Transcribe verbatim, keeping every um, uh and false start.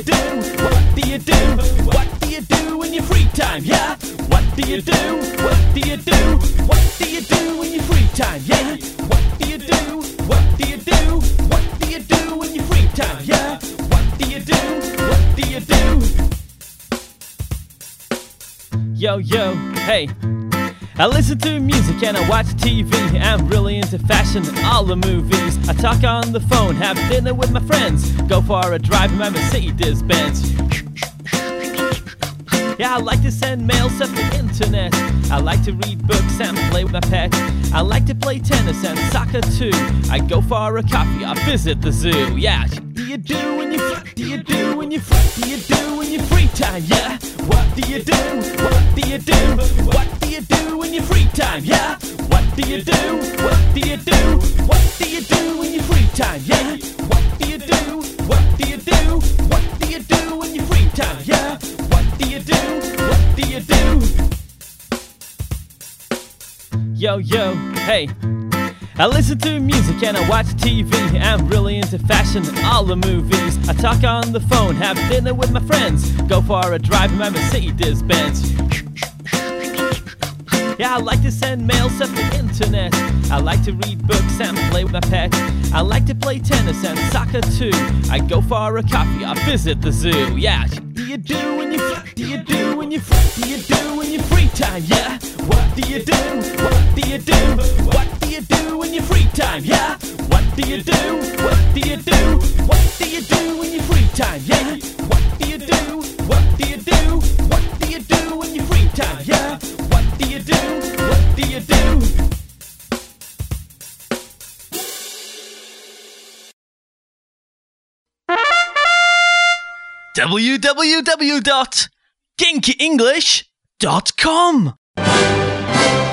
do? What do you do? What do you do in your free time? Yeah. What do you do? What do you do? What do you do in your free time? Yeah. What do you do? What do you do? What do you do in your free time? Yeah. What do you do? What do you do? Yo, yo, hey. I listen to music and I watch T V. I'm really into fashion and all the movies. I talk on the phone, have dinner with my friends, go for a drive in my Mercedes Benz. Yeah, I like to send mail, surf the internet. I like to read books and play with my pet. I like to play tennis and soccer too. I go for a coffee, I visit the zoo. Yeah, what do you do when you what do you do when you what do you do in your free time? Yeah, what do you do? What do you do? What do you do in your free time? Yeah, what do you do? What do you do? What do you do in your free time? Yeah, what do you do? What do you do? What do you do in your free time? Yeah, what do you do? What do you do? Yo, yo, hey. I listen to music and I watch T V. I'm really into fashion and all the movies. I talk on the phone, have dinner with my friends, go for a drive in my Mercedes Benz. Yeah, I like to send mail, surf the internet. I like to read books and play with my pet. I like to play tennis and soccer too. I go for a coffee, I visit the zoo. Yeah, what do you do when you what do you do when you what do you do in your free time? Yeah, what do you do? What do you do? What do you do in your free time? Yeah, what do you do? What do you do? What do you do in your free time? Yeah, what do you do? What do you do? What do you do in your free time? Yeah, what do you do? What do you do? w w w dot kinky english dot com